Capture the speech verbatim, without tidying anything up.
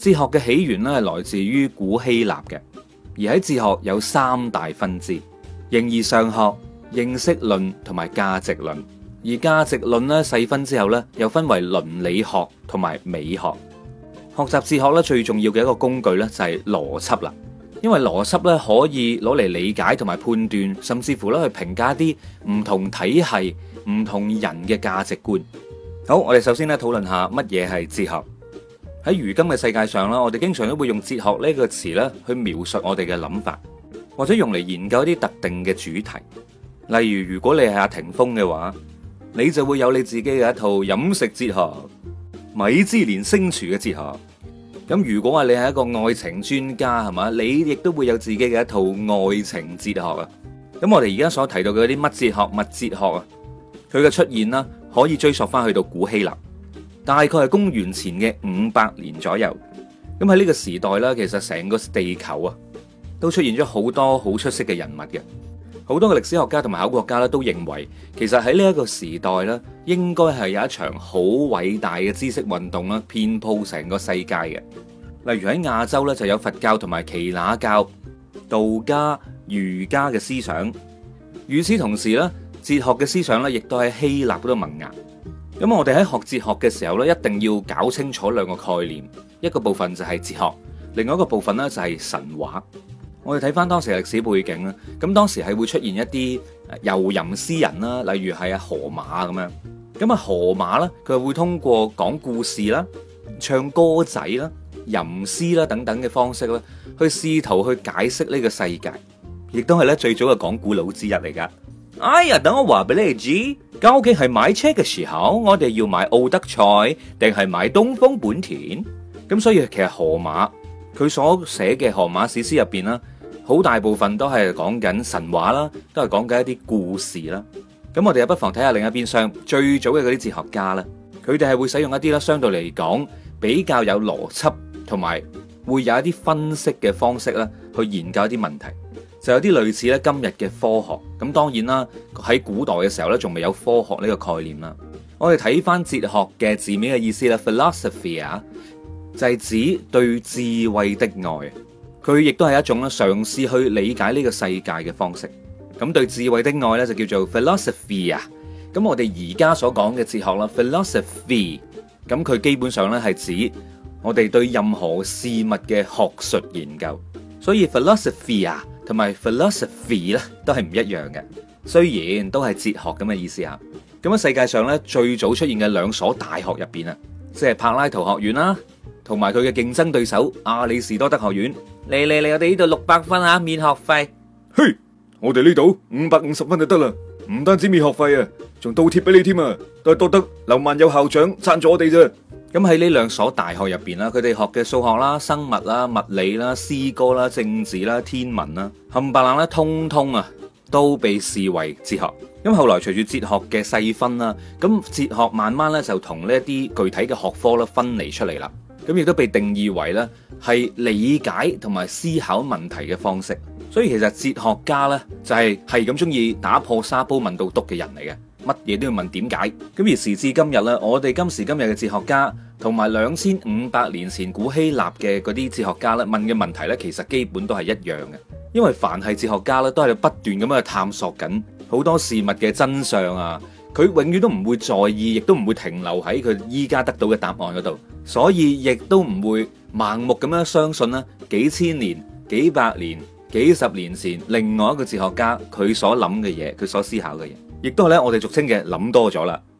哲學嘅起源咧係來自於古希臘嘅，而喺哲學有三大分支：形而上學、認識論同埋價值論。而價值論咧細分之後咧，又分為倫理學同埋美學。學習哲學咧最重要嘅一個工具咧就係邏輯啦，因為邏輯咧可以攞嚟理解同埋判斷，甚至乎咧去評價一啲唔同體系、唔同人嘅價值觀。好，我哋首先咧討論下乜嘢係哲學。喺如今嘅世界上啦，我哋經常都會用哲學呢個詞咧去描述我哋嘅諗法，或者用嚟研究一啲特定嘅主題。例如，如果你係阿霆鋒嘅話，你就會有你自己嘅一套飲食哲學、米芝蓮星廚嘅哲學。咁如果話你係一個愛情專家，係嘛，你亦都會有自己嘅一套愛情哲學啊。咁我哋而家所提到嘅嗰啲乜哲學、物哲學啊，佢嘅出現啦，可以追溯翻去到古希臘，大概係公元前嘅五百年左右。咁喺呢個時代啦，其實成個地球啊，都出現咗好多好出色嘅人物嘅。好多嘅歷史學家同埋考古學家咧，都認為其實喺呢一個時代咧，應該係有一場好偉大嘅知識運動啦，遍佈成個世界嘅。例如喺亞洲咧，就有佛教同埋耆那教、道家、儒家嘅思想。與此同時咧，哲學嘅思想咧，亦都喺希臘嗰度萌芽。咁我哋喺學哲學嘅時候咧，一定要搞清楚兩個概念，一個部分就係哲學，另外一個部分咧就係神話。我哋睇翻當時嘅歷史背景啦，咁當時係會出現一啲遊吟詩人啦，例如係阿荷馬咁樣。咁啊荷馬咧，佢會通過講故事啦、唱歌仔啦、吟詩啦等等嘅方式啦，去試圖去解釋呢個世界，亦都係咧最早嘅講古佬之一嚟噶。哎呀，等我話俾你哋知，究竟係買車嘅時候，我哋要買奧德賽定係買東風本田？咁所以其實荷馬佢所寫嘅荷馬史詩入邊啦，好大部分都係講緊神話啦，都係講緊一啲故事啦。咁我哋又不妨睇下另一邊廂，最早嘅嗰啲哲學家啦，佢哋係會使用一啲啦，相對嚟講比較有邏輯同埋會有一啲分析嘅方式啦，去研究一啲問題，就有啲類似咧今日嘅科學。咁當然啦，喺古代嘅時候咧，仲未有科學呢個概念啦。我哋睇翻哲學嘅字面嘅意思啦 ，philosophy 啊，就係指對智慧的愛。佢亦都係一種咧嘗試去理解呢個世界嘅方式。咁對智慧的愛咧就叫做 philosophy 啊。咁我哋而家所講嘅哲學啦 philosophy，咁佢基本上咧係指我哋對任何事物嘅學術研究。所以 philosophy 啊同埋 philosophy 咧都係唔一樣嘅，雖然都係哲學咁嘅意思啊。咁喺世界上咧最早出現嘅兩所大學入邊啊，即係柏拉圖學院啦，同埋佢嘅競爭對手亞里士多德學院。嚟嚟嚟，我哋呢度六百分啊，免學費。 嘿，我哋呢度五百五十分就得啦，唔單止免學費啊，仲倒貼俾你添啊，都係多得劉萬有校長贊助我哋啫。 咁喺呢兩所大學入邊啦，佢哋學嘅數學啦、生物啦、物理啦、詩歌啦、政治啦、天文啦，冚唪唥咧，通通啊都被視為哲學。咁後來隨住哲學嘅細分啦，咁哲學慢慢咧就同呢一啲具體嘅學科咧分離出嚟啦。咁亦都被定義為咧係理解同埋思考問題嘅方式。所以其實哲學家咧就係係咁中意打破沙煲問到篤嘅人嚟嘅，乜嘢都要問點解。咁而時至今日咧，我哋今時今日嘅哲學家同埋兩千五百年前古希臘嘅嗰啲哲學家咧問嘅問題咧，其實基本都係一樣嘅。因為凡係哲學家咧，都係不斷咁樣去探索緊好多事物嘅真相啊。佢永遠都唔會在意，亦都唔會停留喺佢依家得到嘅答案嗰度，所以亦都唔會盲目咁樣相信啦。幾千年、幾百年、幾十年前，另外一個哲學家佢所諗嘅嘢，佢所思考嘅嘢，亦都係咧我哋俗稱嘅諗多咗啦。